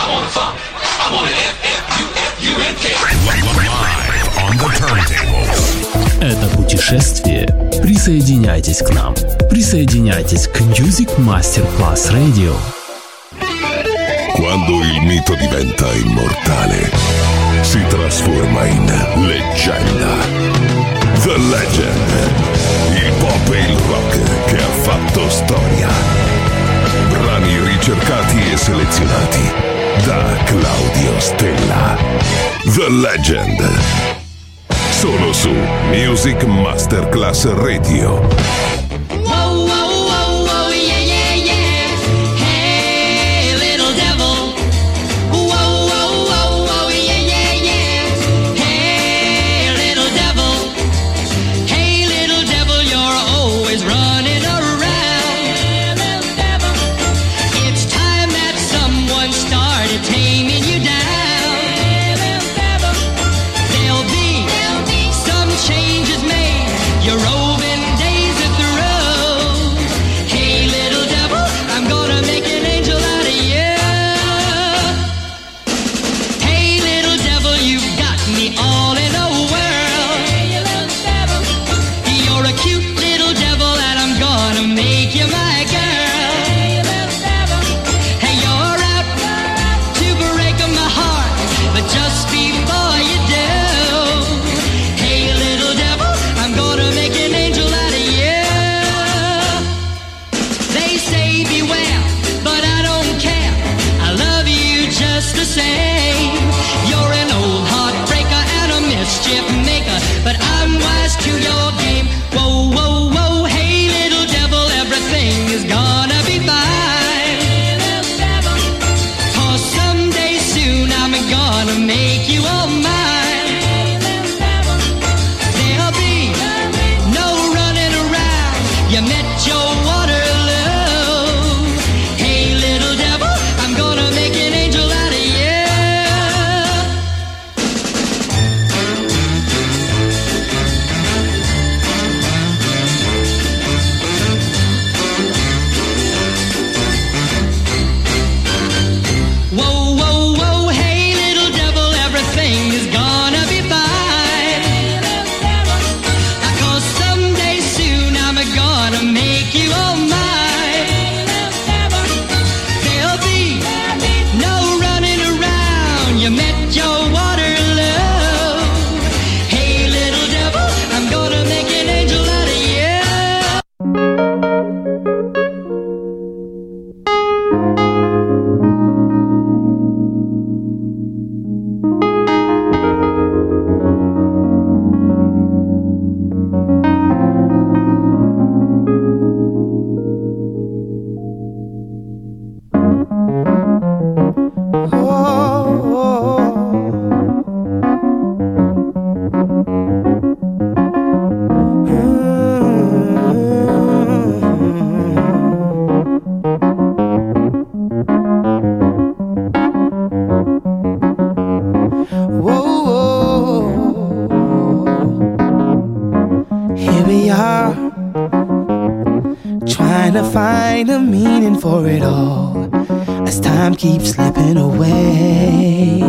want the funk. I want it F-F-U-F-U-N-K. Live on the turntables. Это путешествие. Присоединяйтесь к нам. Присоединяйтесь к Music Masterclass Radio. Quando il mito diventa immortale, si trasforma in leggenda. The Legend. Il pop e il rock che ha fatto storia. Brani ricercati e selezionati da Claudio Stella. The Legend. Solo su Music Masterclass Radio. Find a meaning for it all as time keeps slipping away.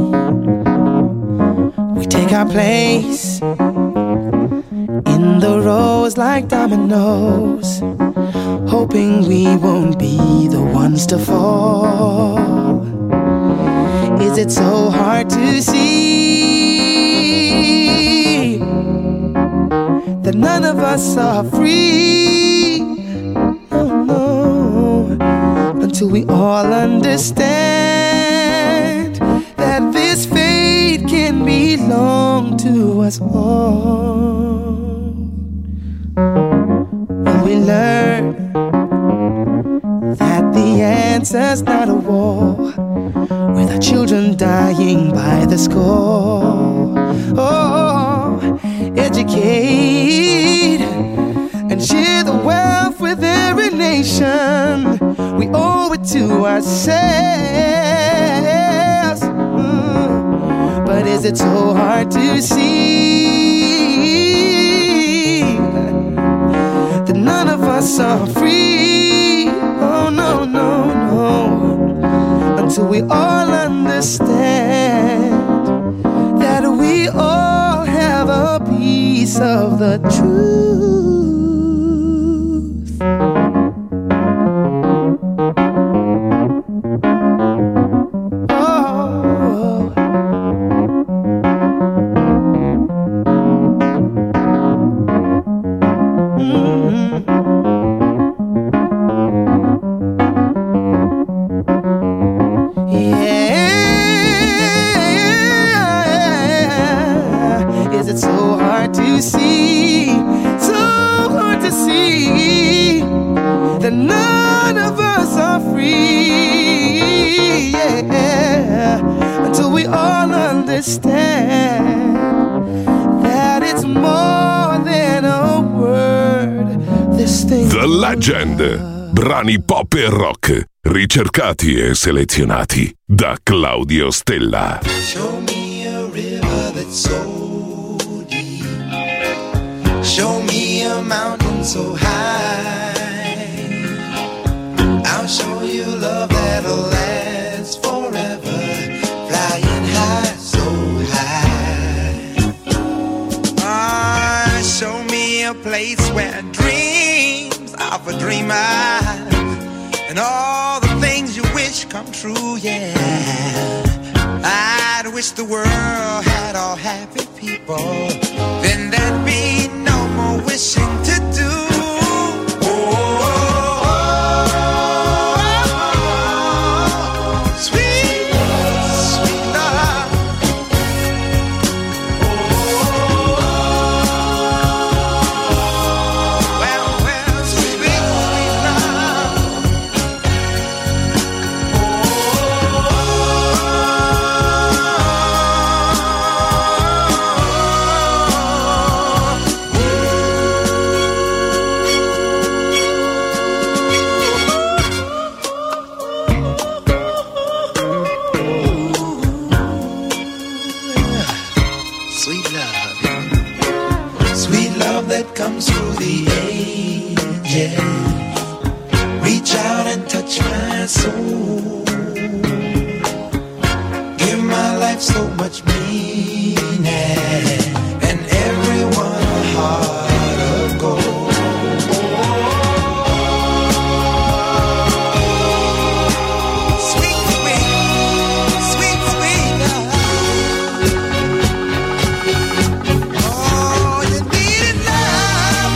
We take our place in the rows like dominoes, hoping we won't be the ones to fall. Is it so hard to see that none of us are free? Until we all understand that this fate can belong to us all. When we learn that the answer's not a war, with our children dying by the score. Oh, educate and share the wealth with every nation. We owe it to ourselves. But is it so hard to see that us are free. Oh no, no, no. until we all understand that we all have a piece of the truth. The Legend, brani pop e rock, ricercati e selezionati da Claudio Stella. Show me a river that's so deep. Show me a mountain so high. I'll show you love that'll last forever. Flying high, so high. Show me a place where dreams of a dreamer and all the things you wish come true, yeah. I'd wish the world had all happy people, then there'd be no more wishing to do. Comes through the ages, reach out and touch my soul, give my life so much meaning, and everyone a heart of gold. Sweet, sweet, sweet, sweet love. Oh, you needed love.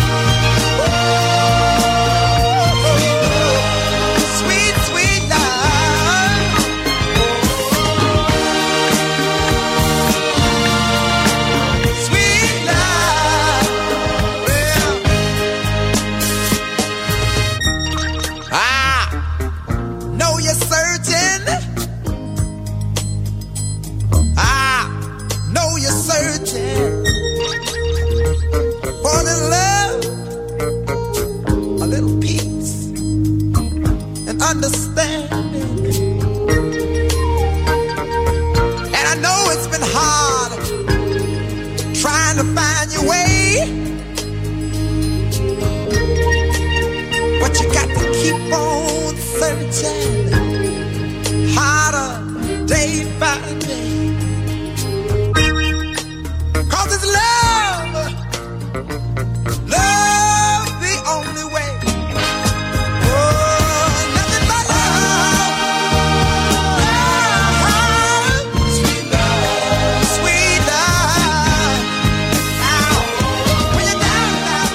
Sweet, sweet love. Sweet love. Well, I know you're searching. I know you're searching for the love, a little peace and understanding. And I know it's been hard trying to find your way, but you got to keep on searching harder day by day. 'Cause it's love, love the only way. Oh, nothing but love, love, sweet love, sweet love. Ow, when you're down now.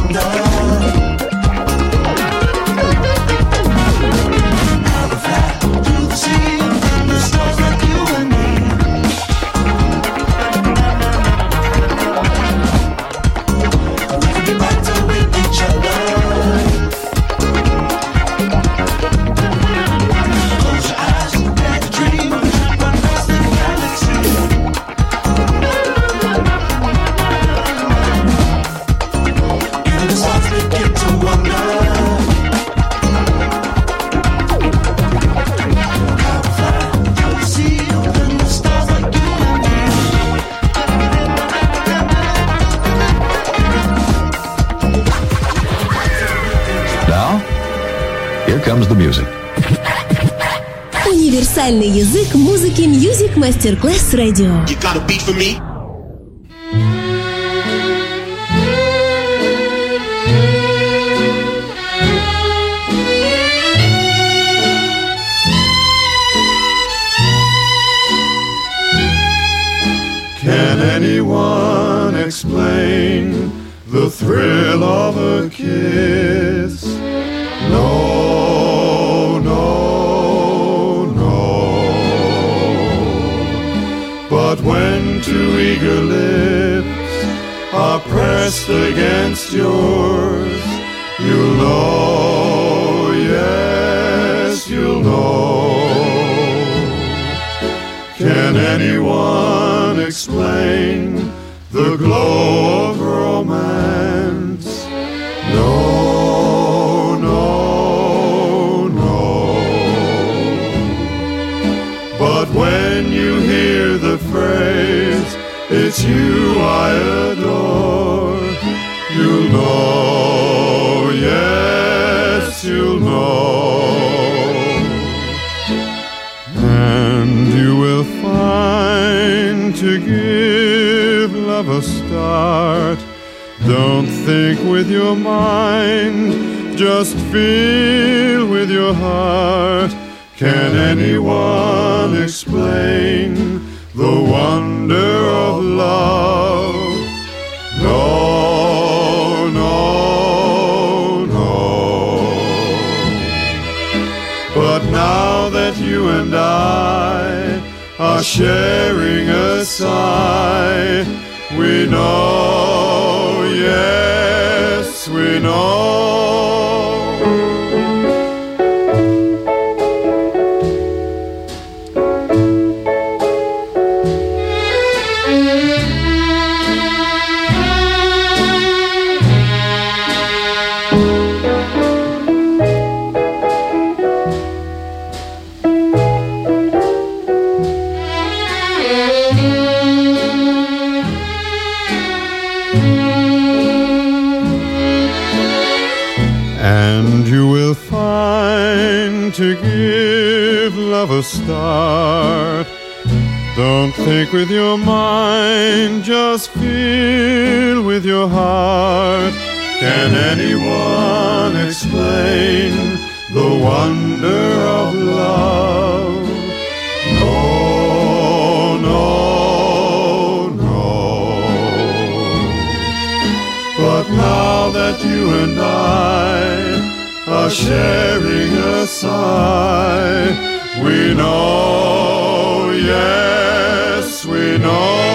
comes the music. Универсальный язык музыки Music Masterclass Radio. You got a beat for me? Can anyone explain the thrill of a kiss? No, no, no. But when two eager lips are pressed against yours, you'll know, yes, you'll know. Can anyone explain the glow of romance? No, no, no. But when you hear the phrase, it's you I adore, you'll know, yes, you'll know. And you will find to give love a start, don't think with your mind, just feel with your heart. Can anyone explain the wonder of love? No, no, no. But now that you and I are sharing a sigh, we know, yes, we know. And you will find to give love a start, don't think with your mind, just feel with your heart. Can anyone explain the wonder of love? No, no, no. But now that you and I are sharing a sigh, we know, yes, we know.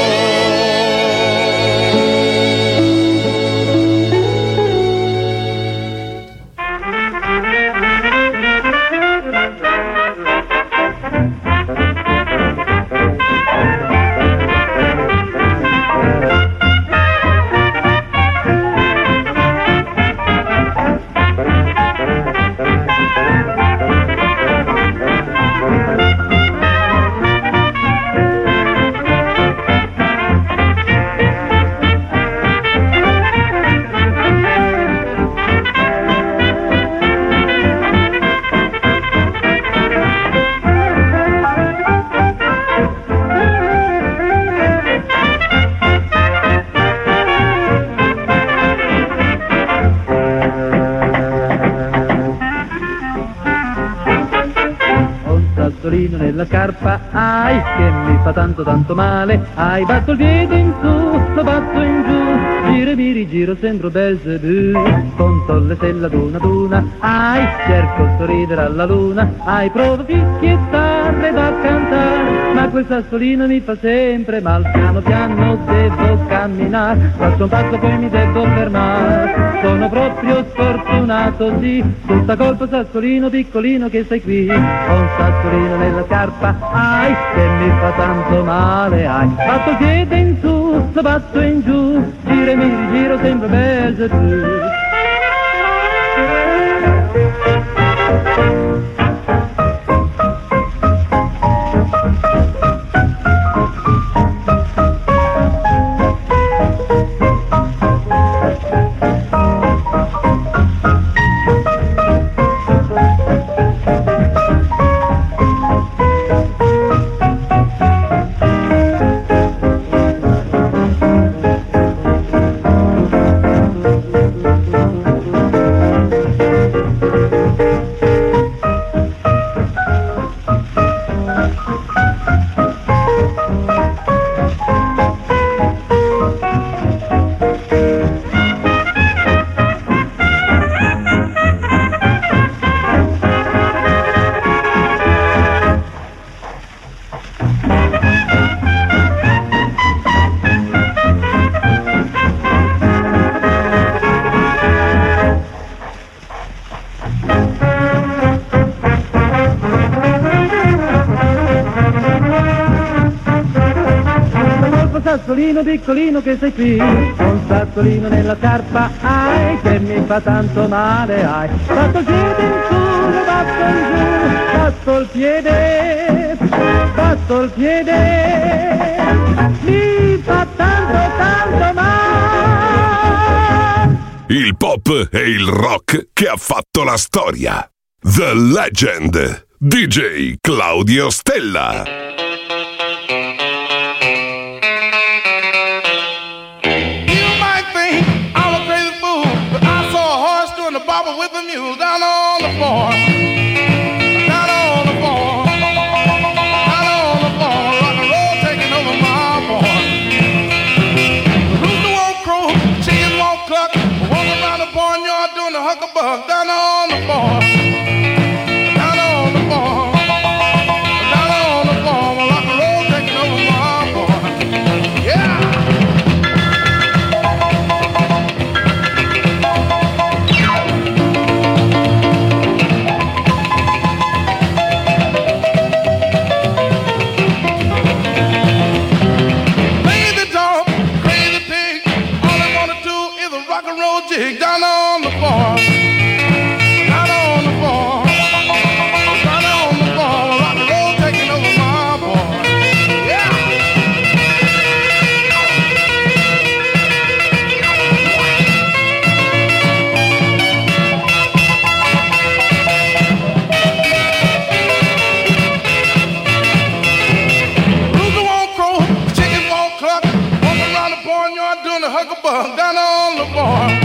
Nella scarpa, ai, che mi fa tanto tanto male, ai, batto il piede in su, lo batto in giù, gira gire mi rigiro sembro Belzebù, conto le stelle ad una, ai, cerco sorridere alla luna, ai, provo fischiettarle da cantare, ma quel sassolino mi fa sempre mal, piano piano devo camminare, faccio un passo poi mi devo fermare, sono proprio sfortunato, sì, tutta colpa sassolino piccolino che sei qui, ho un sassolino nella scarpa, ai, che mi fa tanto male, ai, batto il piede in su, lo batto in giù, giro e mi rigiro sempre Belzebù. Sassolino piccolino che sei qui, un sassolino nella scarpa, ai, che mi fa tanto male, ai, batto il piede in su, lo batto in giù, batto il piede, mi fa tanto male. Il pop e il rock che ha fatto la storia. The Legend, DJ Claudio Stella. With the mule down on the farm, down on the farm, down on the farm, rock and roll taking over my farm. The rooster won't crow, chickens won't cluck, walking around the barnyard doing the hucklebuck down on the farm, down on the farm, down on the farm, rock and roll taking over my farm. Yeah. Down on the farm, down on the farm, down on the farm, rock and roll taking over my farm. Yeah. Rooster won't crow, chickens won't cluck, walking around the barnyard doing the hucklebuck down on the farm.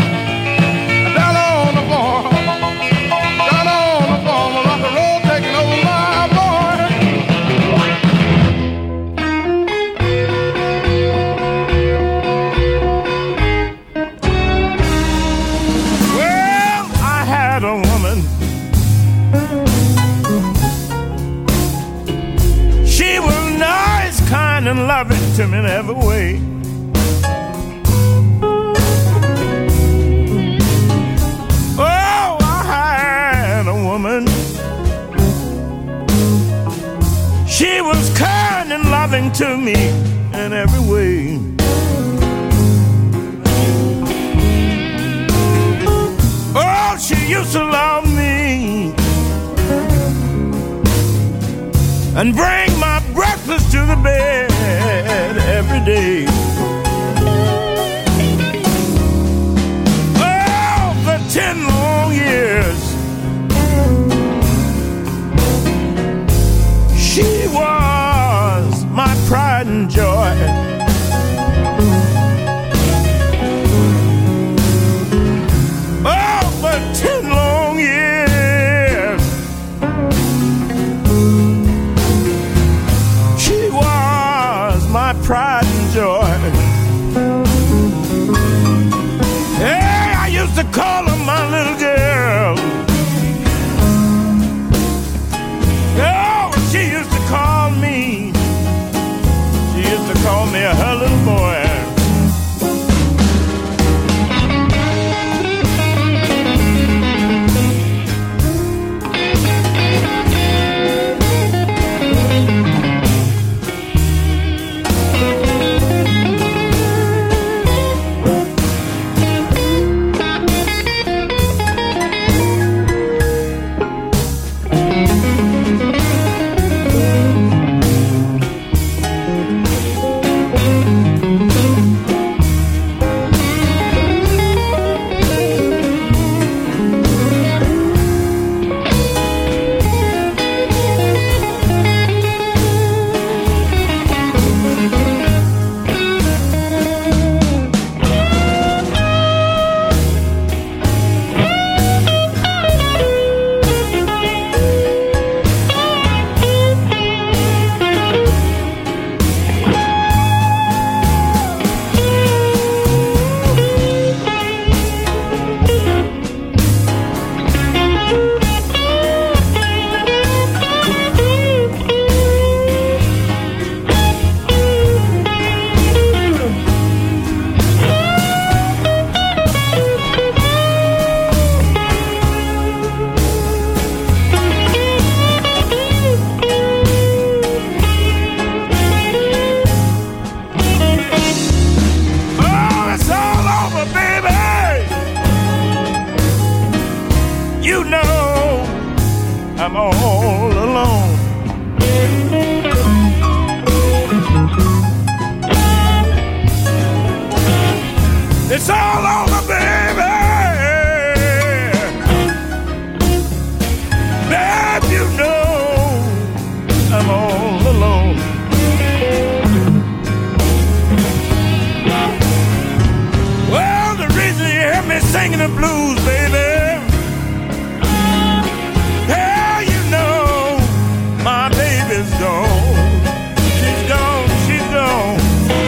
And loving to me in every way. Oh, I had a woman. She was kind and loving to me in every way. Oh, she used to love me and bring my breakfast to the bed every day. Oh, for 10 long years she was my pride and joy. Oh, for 10 long years she was my pride and joy. I'm all alone. It's all over, baby. Babe, you know I'm all alone. Well, the reason you hear me singing the blues, baby, hell, you know my baby's gone. She's gone, she's gone.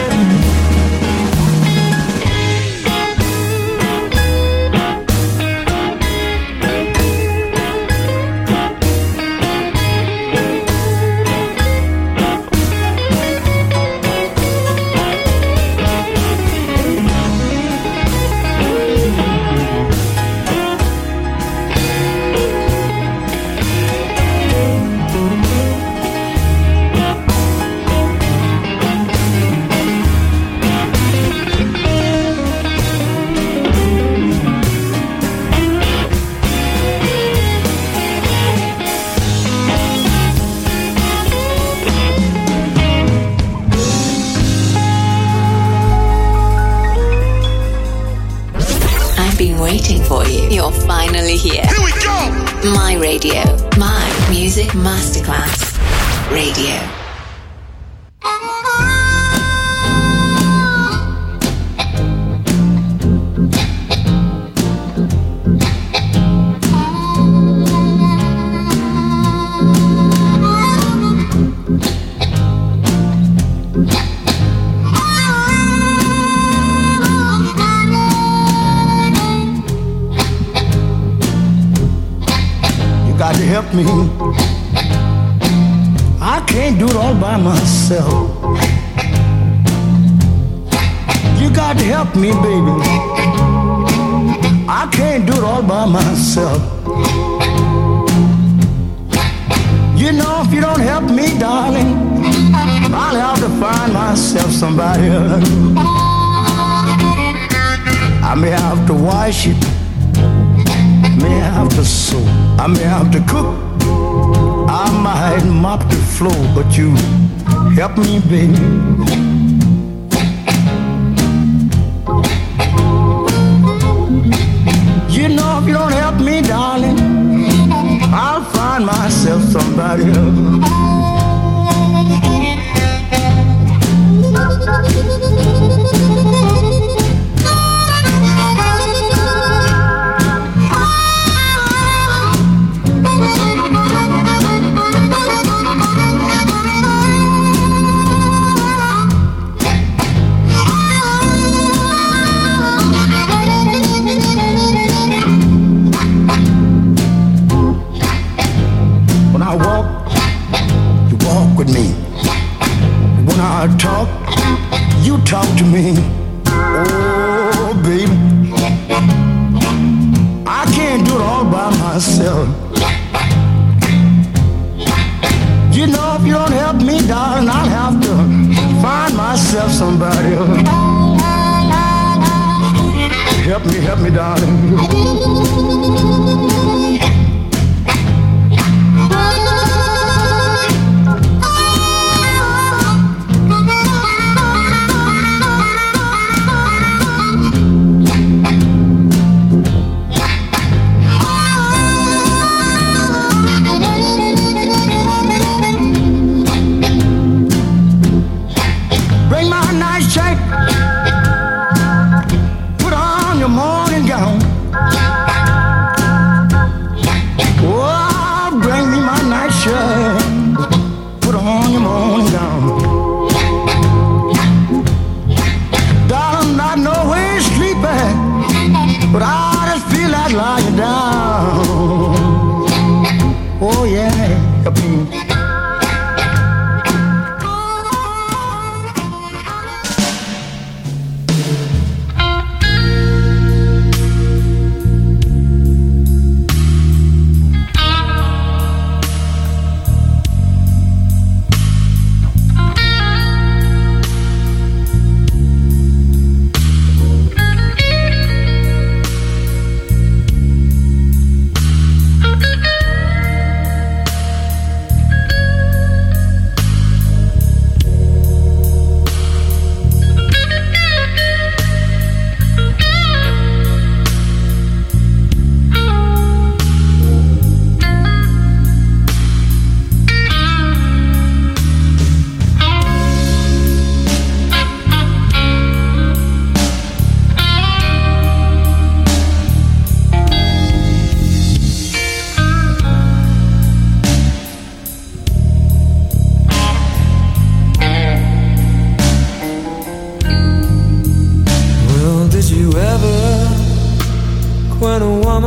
Waiting for you. You're finally here. Here we go! My radio. My Music Masterclass Radio. Help me. I can't do it all by myself. You got to help me, baby. I can't do it all by myself. You know, if you don't help me, darling, I'll have to find myself somebody else. I may have to wash it, may have to sew, I may have to cook, I might mop the floor, but you help me, baby. You know, if you don't help me, darling, I'll find myself somebody else. Talk, you talk to me. Oh, baby, I can't do it all by myself. You know, if you don't help me, darling, I'll have to find myself somebody else. Help me, darling.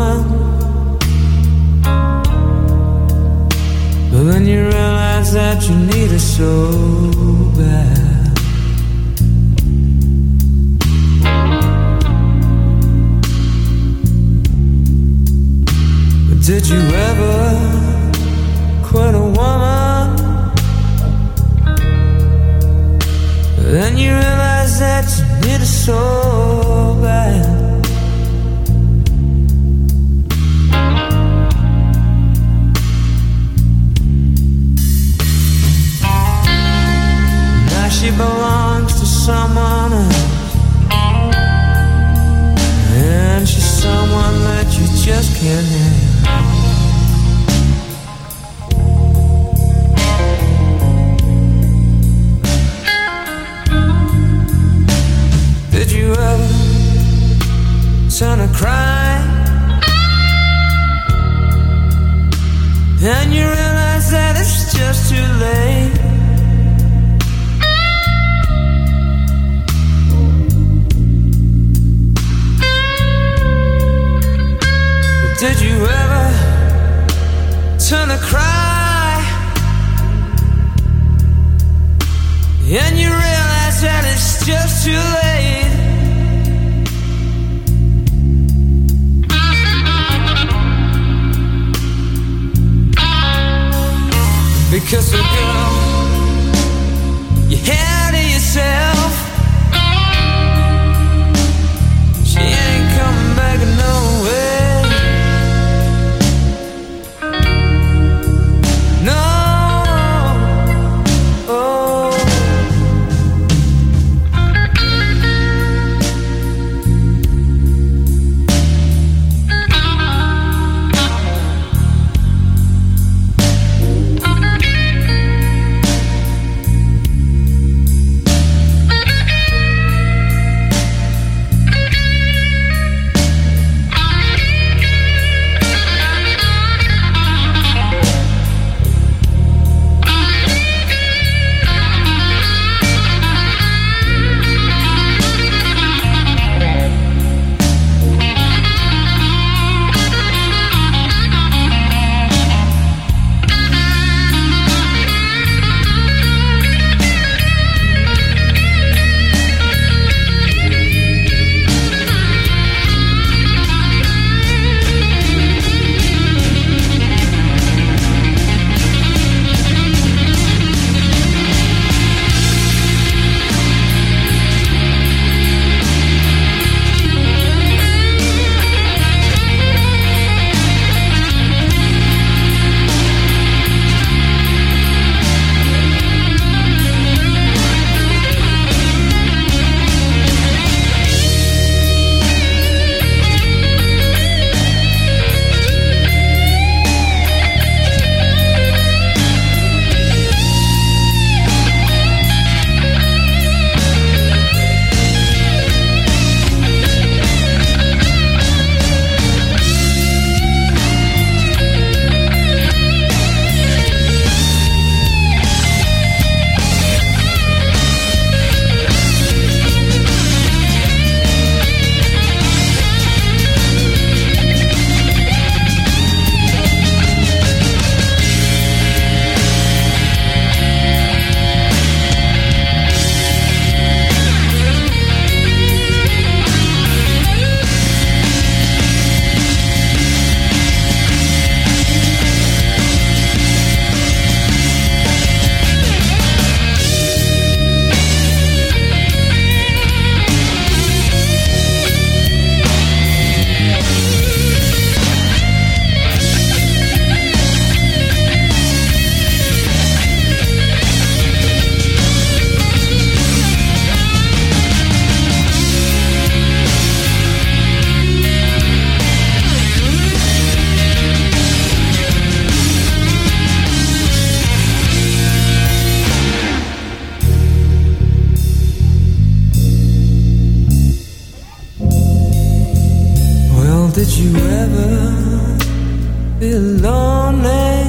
woman, but then you realize that you need her so bad. But did you ever quit a woman, but then you realize that you need her so bad? She belongs to someone else, and she's someone that you just can't have. Did you ever turn a cry, and you realize that it's just too late? Did you ever turn a cry, and you realize that it's just too late? Because a girl you had to yourself, she ain't coming back no way. Did you ever feel lonely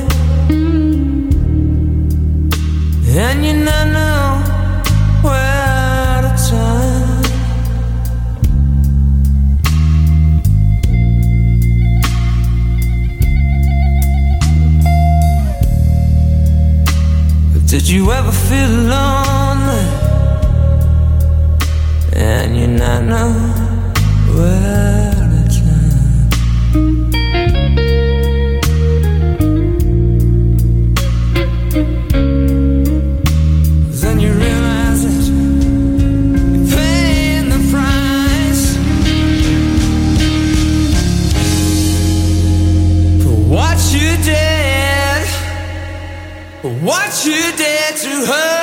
and you not know where to turn? Did you ever feel lonely and you not know where to turn? Then you realize that you're paying the price for what you did, for what you did to her.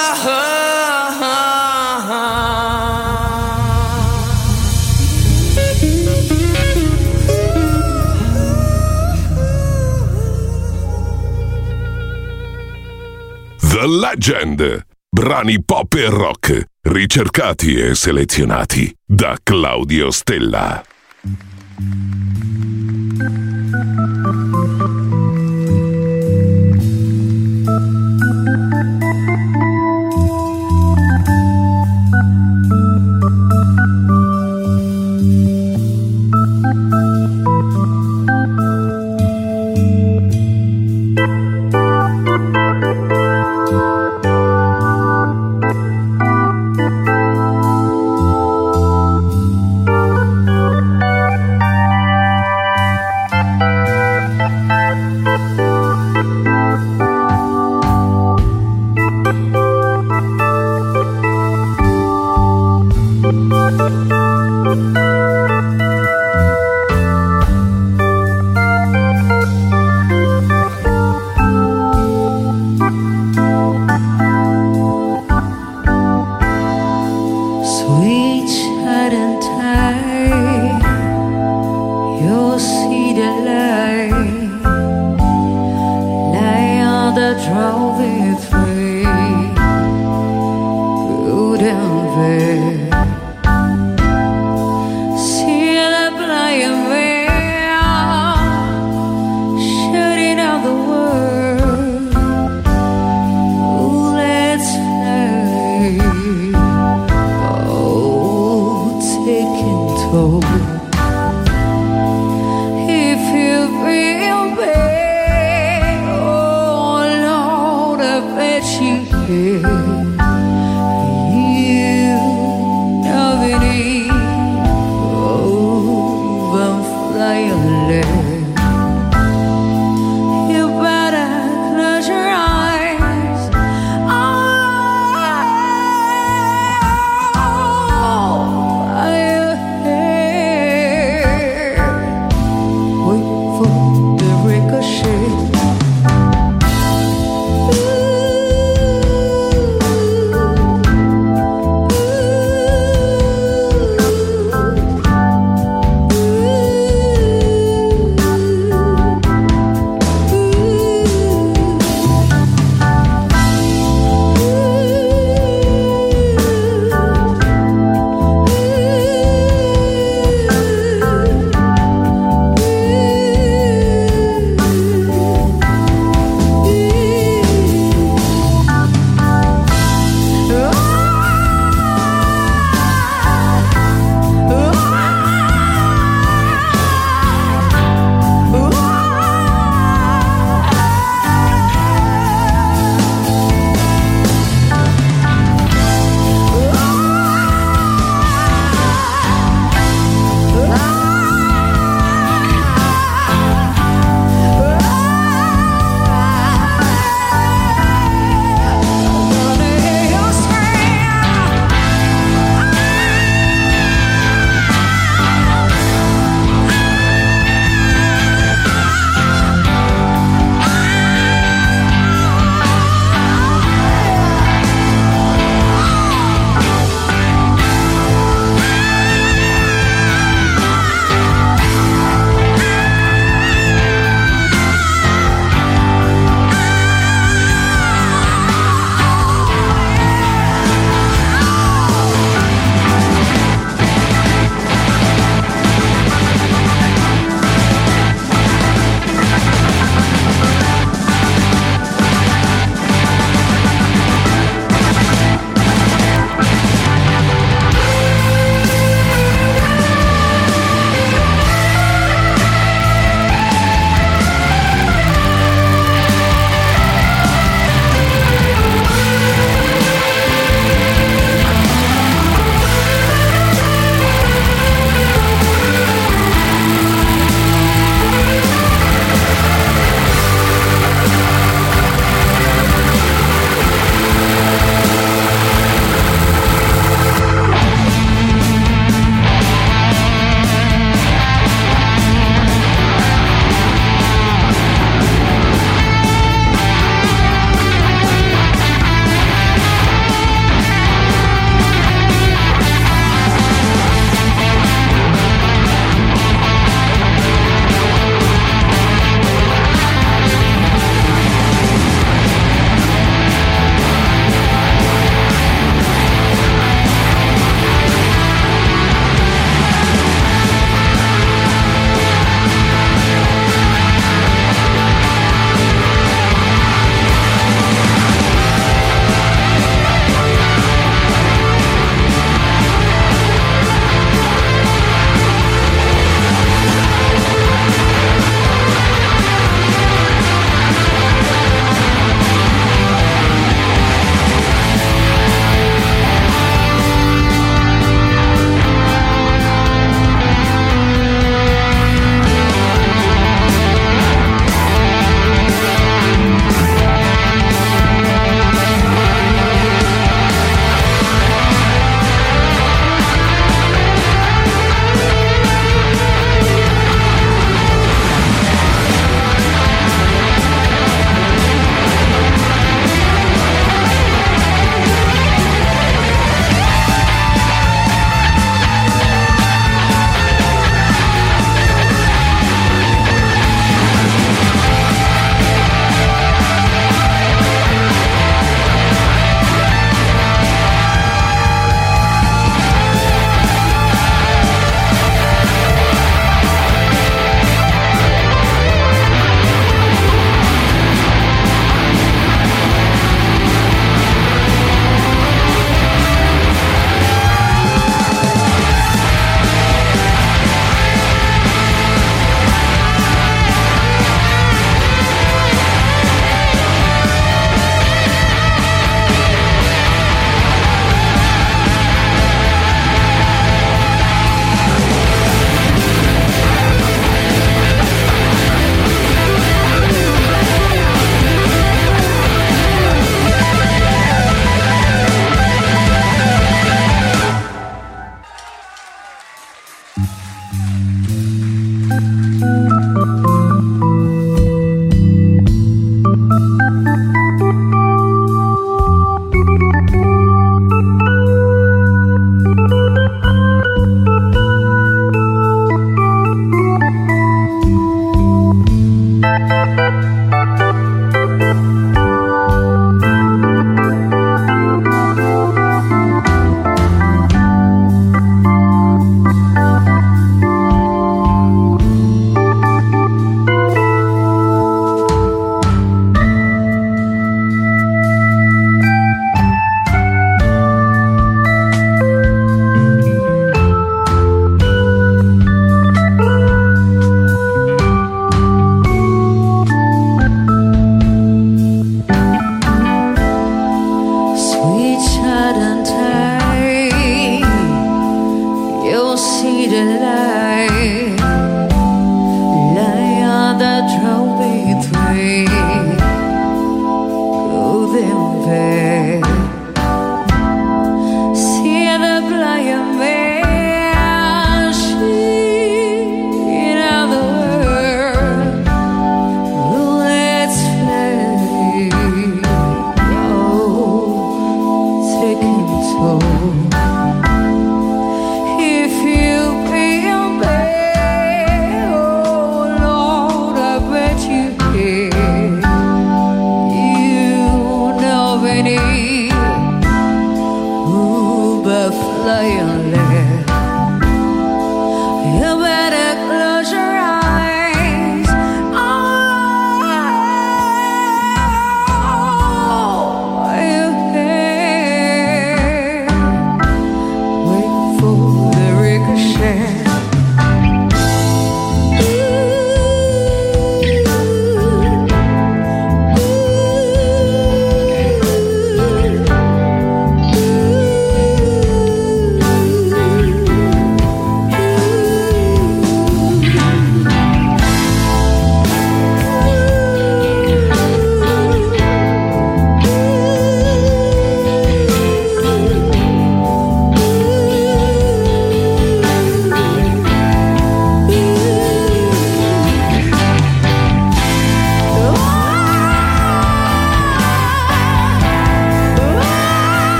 The Legend. Brani pop e rock, ricercati e selezionati da Claudio Stella.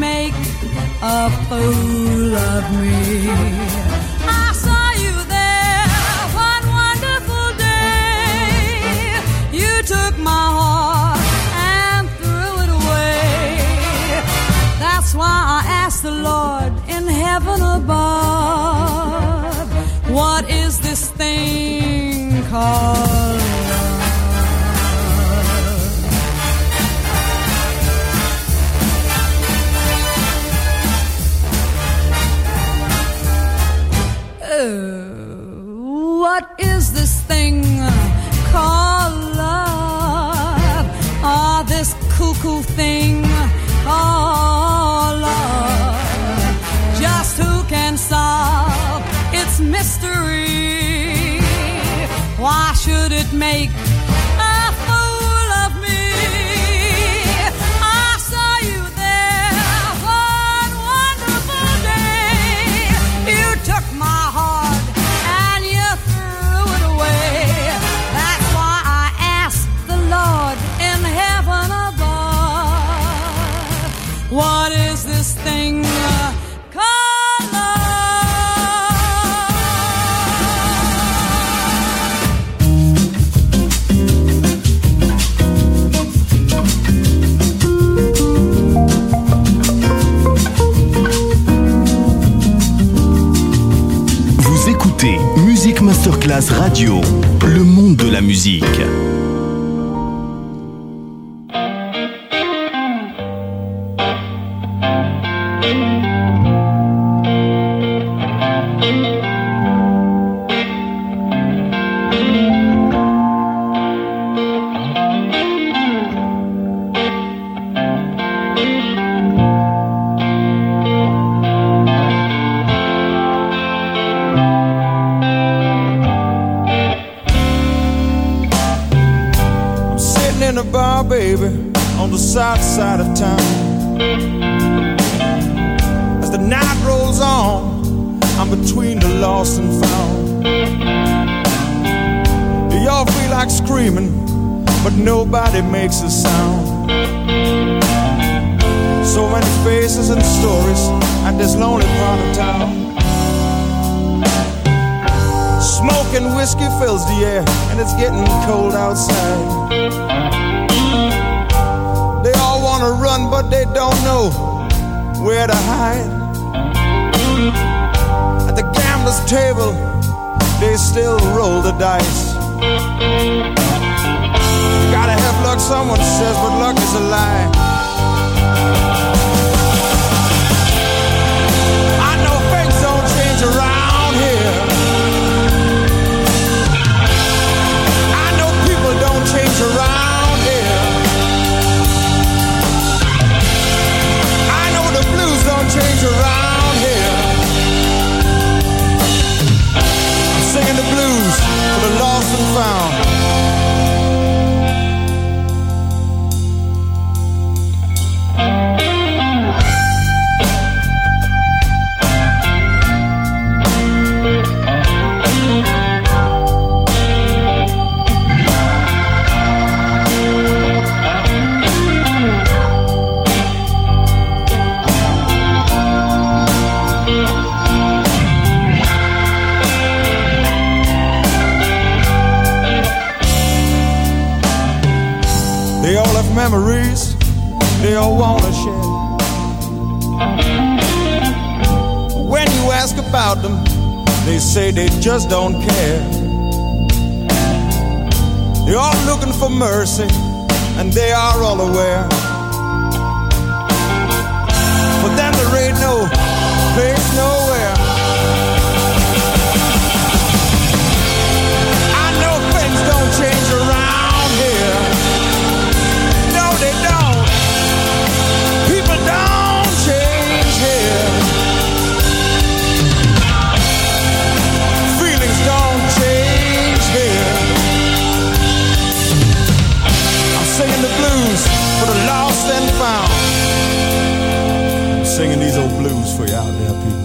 make a fool of me. I saw you there one wonderful day. You took my heart and threw it away. That's why I asked the Lord in heaven above, what is this thing called what is this thing called love? Oh, this cuckoo thing called love. Just who can solve its mystery? Why should it make a fool of me? I saw you there one wonderful day. You took my heart and you threw it away. That's why I asked the Lord in heaven above, what is this thing called love? Vous écoutez Music Masterclass Radio, le monde de la musique. In a bar, baby, on the south side of town. As the night rolls on, I'm between the lost and found. You all feel like screaming, but nobody makes a sound. So many faces and stories at this lonely part of town. Smoke and whiskey fills the air, and it's getting cold outside. They all wanna run, but they don't know where to hide. At the gambler's table, they still roll the dice. Gotta have luck, someone says, but luck is a lie. I know things don't change around here. I know people don't change around here. I know the blues don't change around here. I'm singing the blues for the lost and found. They all have memories they all wanna share. When you ask about them, they say they just don't care. They're all looking for mercy, and they are all aware. For them there ain't no place nowhere. I know things don't change around here. No, they don't. People don't change here. Feelings don't change here. I'm singing the blues for the lost and found. I'm singing these old blues for you out there, people.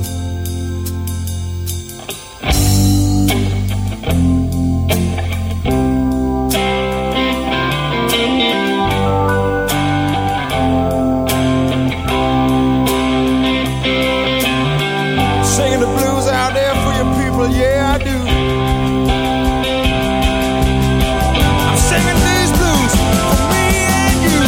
yeah I do. I'm singing these blues for me and you.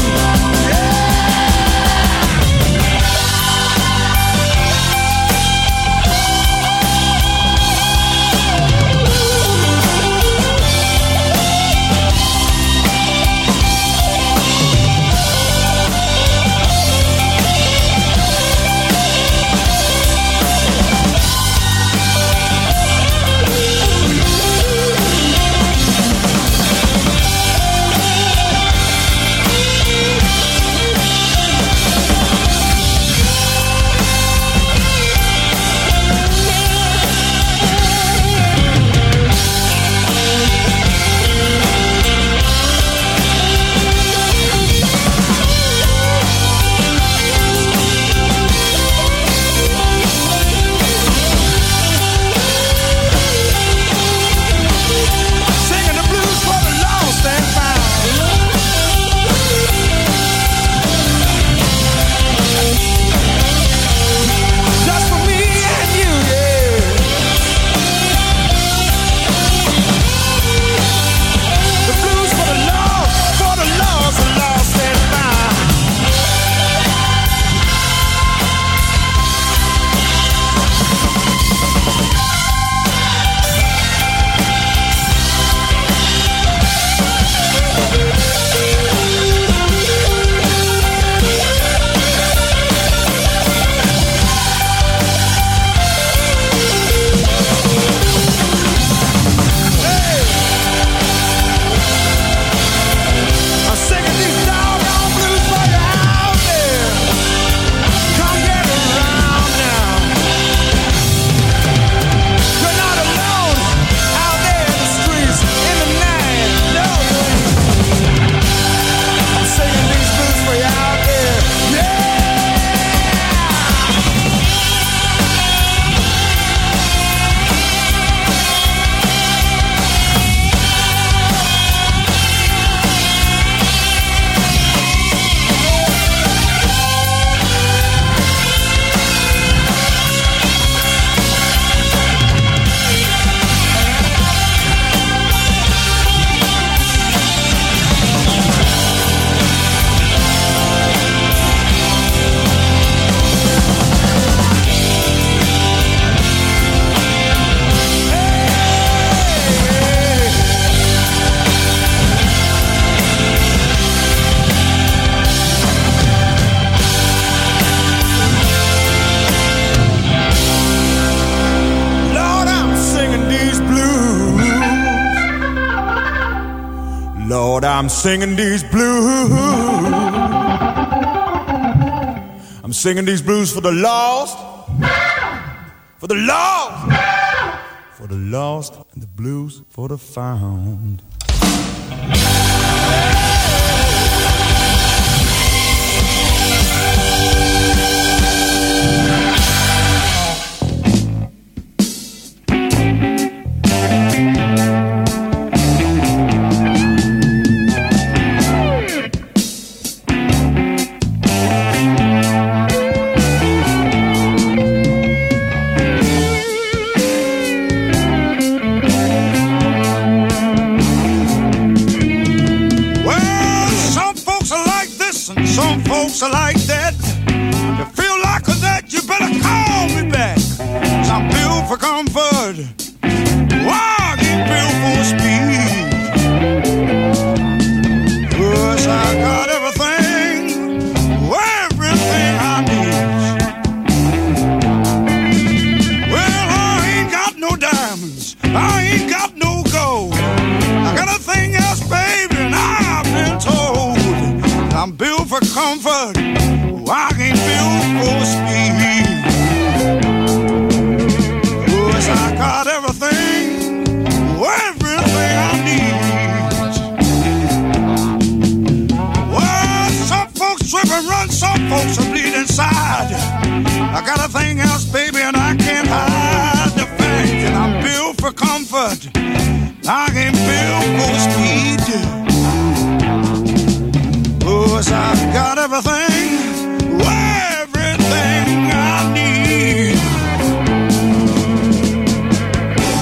Lord, I'm singing these blues. I'm singing these blues for the lost, for the lost, for the lost, and the blues for the found. Folks are like that. If you feel like that, you better call me back. 'Cause I'm built for comfort. Wow, I get built for speed. 'Cause I got everything I need. Well, I ain't got no diamonds, I ain't got no gold. I got a thing else, baby, and I've been told I'm built for comfort. I ain't built for speed. 'Cause I got everything I need. Well, some folks trip and run, some folks are bleed inside. I got a thing else, baby, and I can't hide the fact that I'm built for comfort. I ain't built for speed. 'Cause I've got everything I need.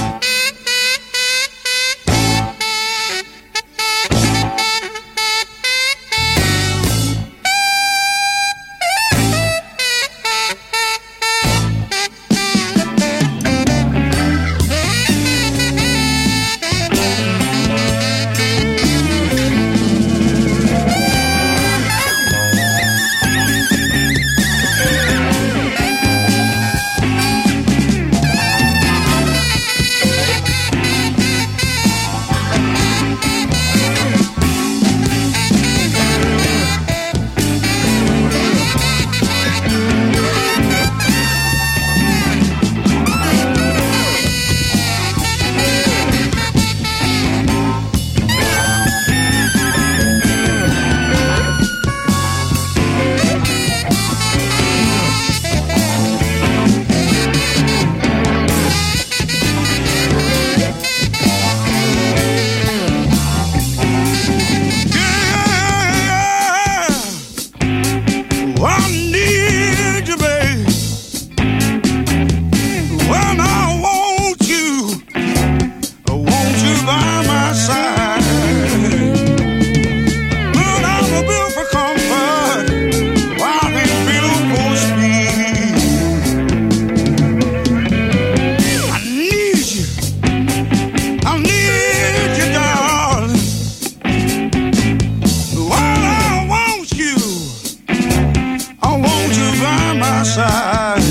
side.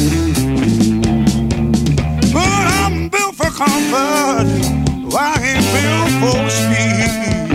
But I'm built for comfort, I ain't built for speed.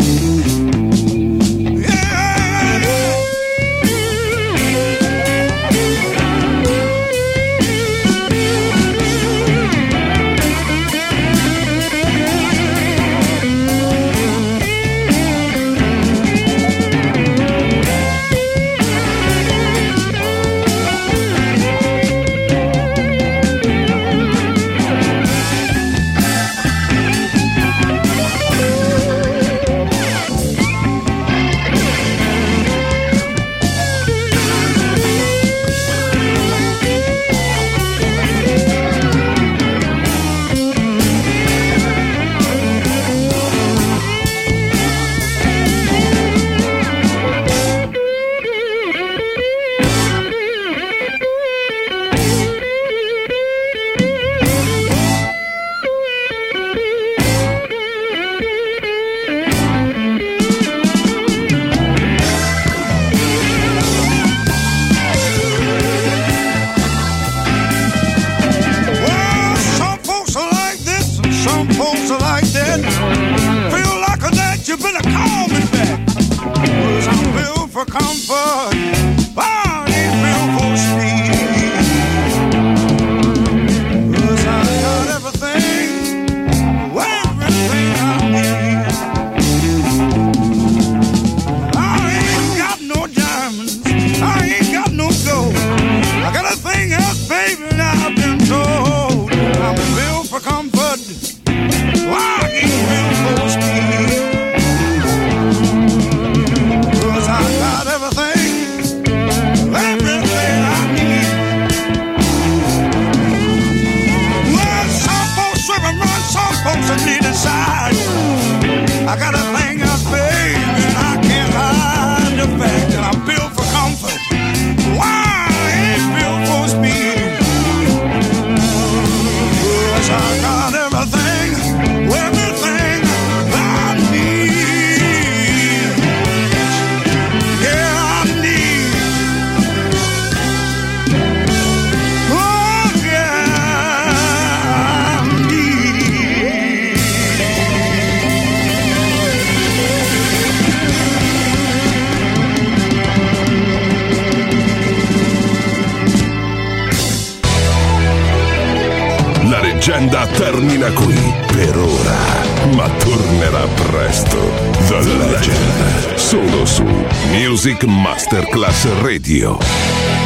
Termina qui per ora, ma tornerà presto. The Legend, solo su Music Masterclass Radio.